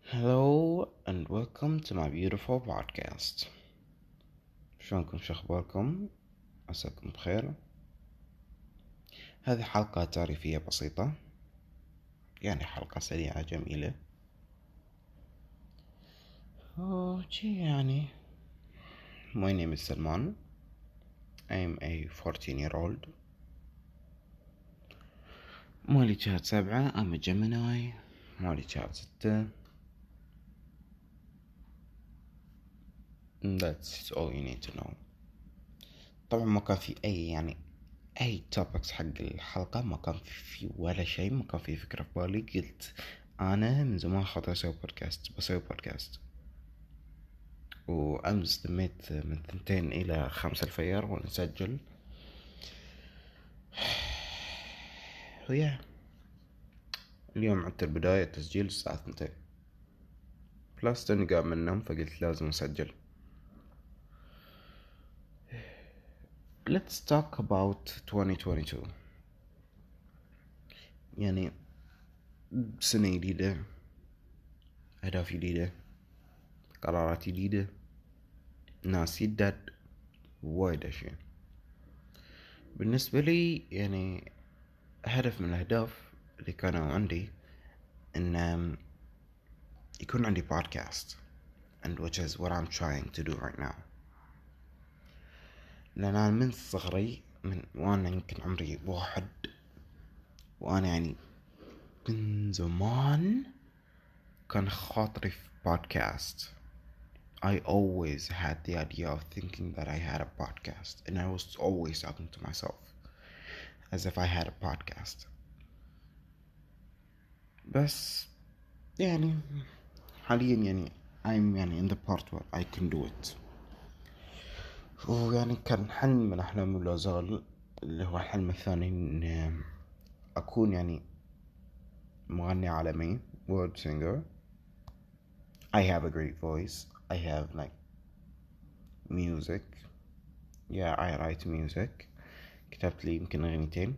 Hello and welcome to my beautiful podcast. شلونكم؟ شو اخباركم؟ عساكم بخير. هذه حلقة تعريفية بسيطة، يعني حلقة سريعة جميلة. يعني My name is Salman. I am a 14-year-old. مواليد شهر 7. I'm a Gemini. مواليد شهر 6. That's all you need to know. طبعا ما كان في أي topics حق الحلقة، ما كان في ولا شيء، ما كان في فكرة في بالي. قلت أنا من زمان خاطر بسوي بودكاست، وأمس دميت من 2 إلى 5 الفيار وأنا أسجل. ويا اليوم عدت البداية تسجيل الساعة 2 بلس تاني قام من النوم، فقلت لازم أسجل. Let's talk about 2022. يعني سنة جديدة، أهداف جديدة، قرارات جديدة، ناس جدد، وايد أشياء. بالنسبة لي يعني هدف من الأهداف اللي كانوا عندي إن يكون عندي بودكاست، and which is what I'm trying to do right now. لأن أنا من صغري، وأنا يمكن عمري 1، وأنا يعني من زمان كان خاطري في بودكاست. I always had the idea of thinking that I had a podcast, and I was always talking to myself as if I had a podcast. بس يعني حاليا يعني I'm يعني in the part where I can do it. ويعني كان حلم من أحلامي لا زال، اللي هو الحلم الثاني، إن أكون يعني مغني عالمي، world singer. I have a great voice. I have like music. Yeah, I write music. كتبت لي يمكن أغنيتين،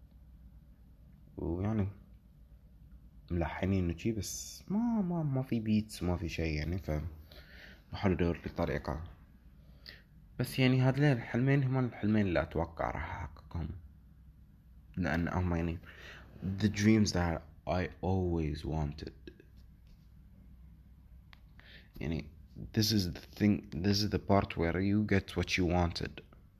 ويعني ملحنين وشي، بس ما في بيتس، ما في شيء يعني، بحاول أدور لي طريقة. بس يعني هذين الحلمين هما الحلمين اللي أتوقع راح أحققهم، لأن هم يعني the dreams that I always wanted. يعني this is the thing, this is the part where you get what you wanted,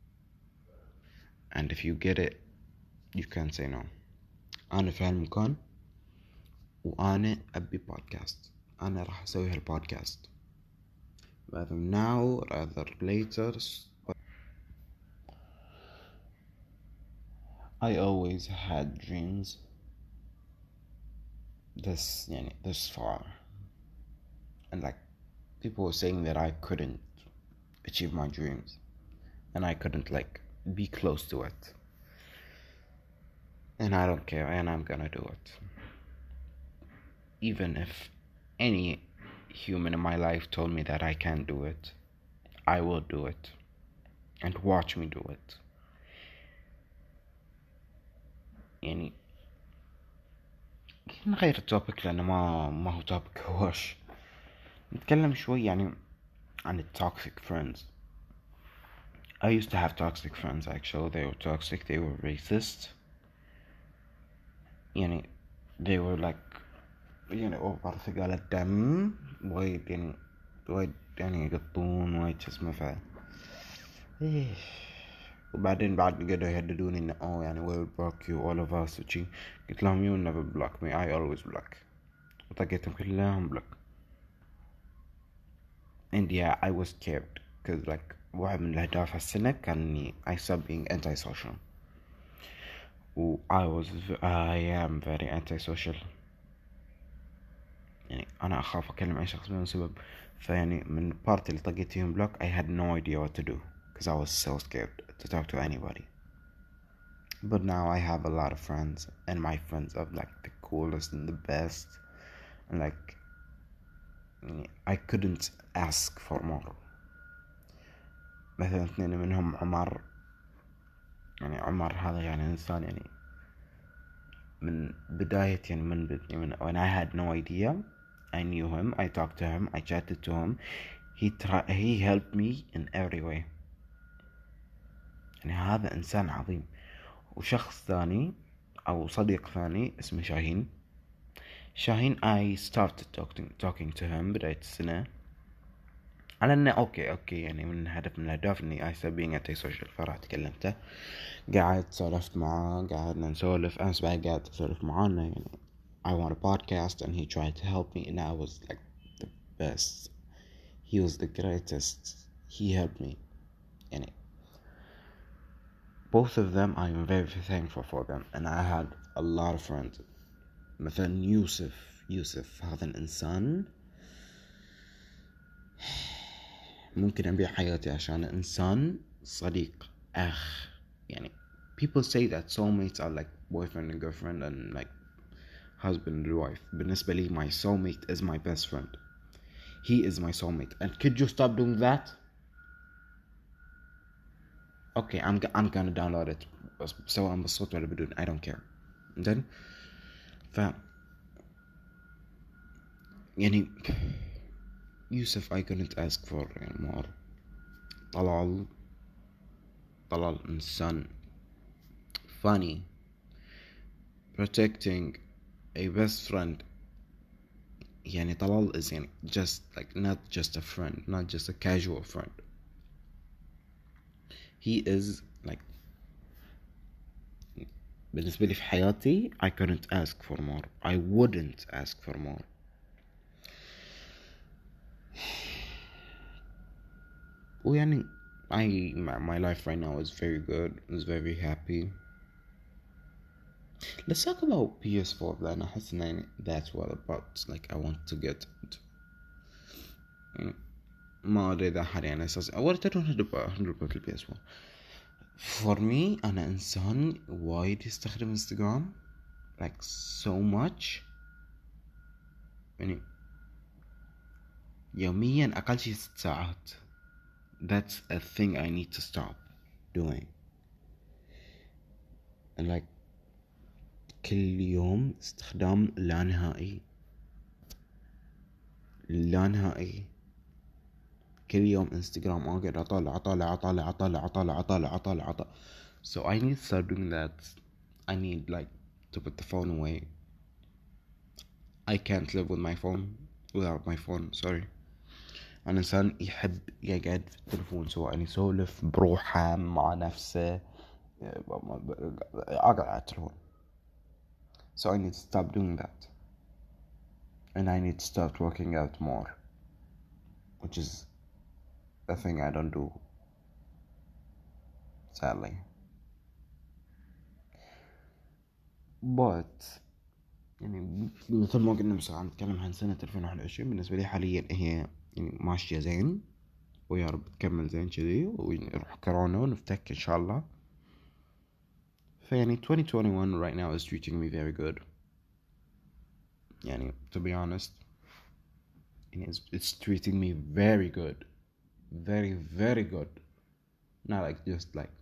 and if you get it you can't say no. أنا في هالمكان وأنا أبي بودكاست. أنا راح أسوي هالبودكاست rather now rather later. I always had dreams this far, and like people were saying that I couldn't achieve my dreams, and I couldn't like be close to it, and I don't care, and I'm gonna do it. Even if any human in my life told me that I can't do it, I will do it, and watch me do it. يعني نغير التوبيك لأنه ما هو توبيك هوش. نتكلم شوي يعني عن التوكسيك friends. I used to have toxic friends actually. They were toxic, they were racist. يعني they were like يعني أوفر ثقال الدم، وايد يعني يقطون وايد اسمه وبعدين بعد قعدوا يهددوني إنه يعني we will block you all of us وشي. قلت لهم you never block me, I always block. وطقيتهم كلهم block. and yeah, I was scared because like واحد من الأهداف هالسنة كان إني I stopped being antisocial. I am very antisocial. يعني أنا أخاف أكلم أي شخص بدون سبب. فيعني من البارت اللي طقيت فيهم بلوك I had no idea what to do because I was so scared to talk to anybody. But now I have a lot of friends, and my friends are like the coolest and the best, and like I couldn't ask for more. مثلا 2 منهم عمر. يعني عمر هذا يعني إنسان يعني من بداية يعني من when I had no idea I knew him, I talked to him, I chatted to him. He helped me in every way. يعني هذا إنسان عظيم. وشخص ثاني أو صديق ثاني اسمه شاهين I started talking to him بداية السنة على انه اوكي يعني من هدف من الاهداف اني I start being anti-social. فرحت كلمته، قاعد سولفت معاه، قعدنا نسولف، امس بعد قاعد اسولف معاه انه يعني I want a podcast and he tried to help me and I was like the best. He was the greatest. He helped me. يعني both of them I am very thankful for them and I had a lot of friends. مثلا يوسف هذا الإنسان ممكن أبيع حياتي عشان إنسان صديق أخ. يعني people say that soulmates are like boyfriend and girlfriend and like husband and wife. بالنسبة لي my soulmate is my best friend. He is my soulmate. And could you stop doing that? Okay, I'm gonna download it سواء بالصوت ولا بدون. I don't care. then يعني يوسف I couldn't ask for more. طلال إنسان funny, protecting, a best friend. يعني طلال is يعني just like not just a friend, not just a casual friend. He is like بالنسبة لي في حياتي I couldn't ask for more. I wouldn't ask for more. ويعني my life right now is very good, is very happy. Let's talk about PS4 لأن أحس إن that's what about like I want to get it. يعني ما أدري إذا حد يعني أساس أول ترون هدرب PS4. For me أنا إنسان وايد يستخدم انستغرام like so much. يعني يوميا أقل شي 6 ساعات. That's a thing I need to stop doing. And like كل يوم استخدام لا نهائي. كل يوم انستغرام اقعد اطالع. So I need to start doing that. I need like to put the phone away. I can't live without my phone. Sorry. أنا إنسان يحب يقعد في التلفون سواء يسولف بروحه مع نفسه أقعد على التلفون. So I need to stop doing that. And I need to start working out more, which is a thing I don't do, sadly. But يعني مثل ما قلنا مثلا نتكلم عن سنة 2021 بالنسبة لي حاليا هي يعني ماشية زين، ويا رب تكمل زين كذي ويروح كورونا ونفتك إن شاء الله. فيعني 2021 right now is treating me very good. يعني to be honest it's treating me very good, very very good. Not like just like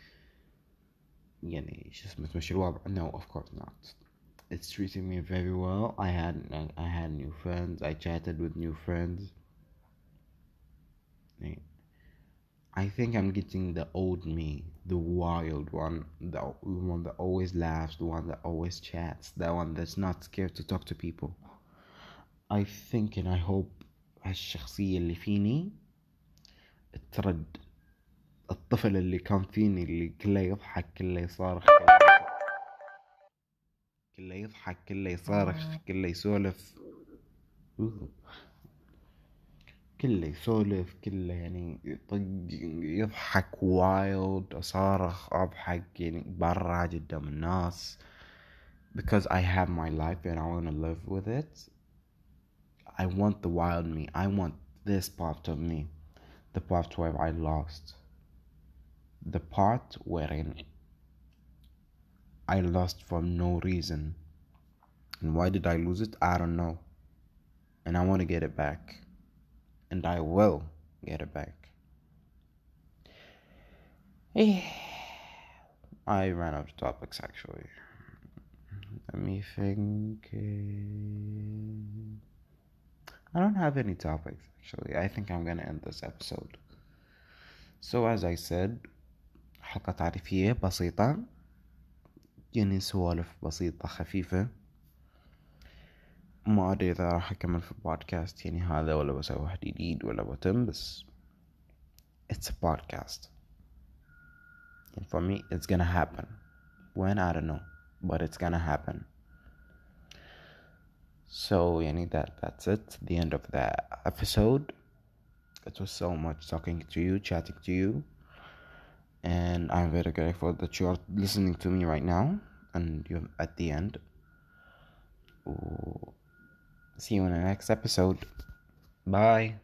يعني شو اسمه تمشي الوضع. No, of course not. It's treating me very well. I had new friends. I chatted with new friends. I think I'm getting the old me, the wild one, the one that always laughs, the one that always chats, the one that's not scared to talk to people. I think and I hope هالشخصية اللي فيني ترد. الطفل اللي كان فيني اللي كله يضحك كله يصارخ كله يضحك كله يصارخ كله يسولف كله يسولف كله يعني يضحك وايد أصارخ أضحك يعني برا قدام الناس. Because I have my life and I want to live with it. I want the wild me. I want this part of me. The part where I lost. The part wherein I lost for no reason. And why did I lose it? I don't know. And I want to get it back. And I will get it back. I ran out of topics actually. Let me think. I don't have any topics actually. I think I'm gonna end this episode. So as I said, حلقة تعريفية بسيطة، يعني سوالف بسيطة خفيفة. ما أدري إذا راح أكمل في البودكاست يعني هذا ولا بسوي واحد جديد ولا بتم، بس it's a podcast and for me it's gonna happen. When, I don't know, but it's gonna happen. So يعني that's it, the end of the episode. It was so much talking to you, chatting to you, and I'm very grateful that you're listening to me right now and you're at the end. See you in the next episode. Bye.